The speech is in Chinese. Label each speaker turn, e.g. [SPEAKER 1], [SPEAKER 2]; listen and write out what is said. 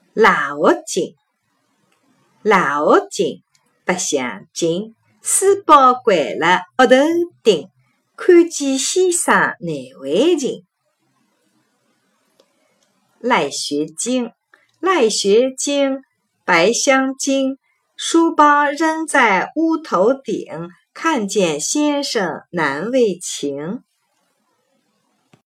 [SPEAKER 1] 腊学经，腊学经，白相经，书包掼了额头顶，看见先生难为情。来学经，来学经，白相经，书包扔在屋头顶，看见先生难为情。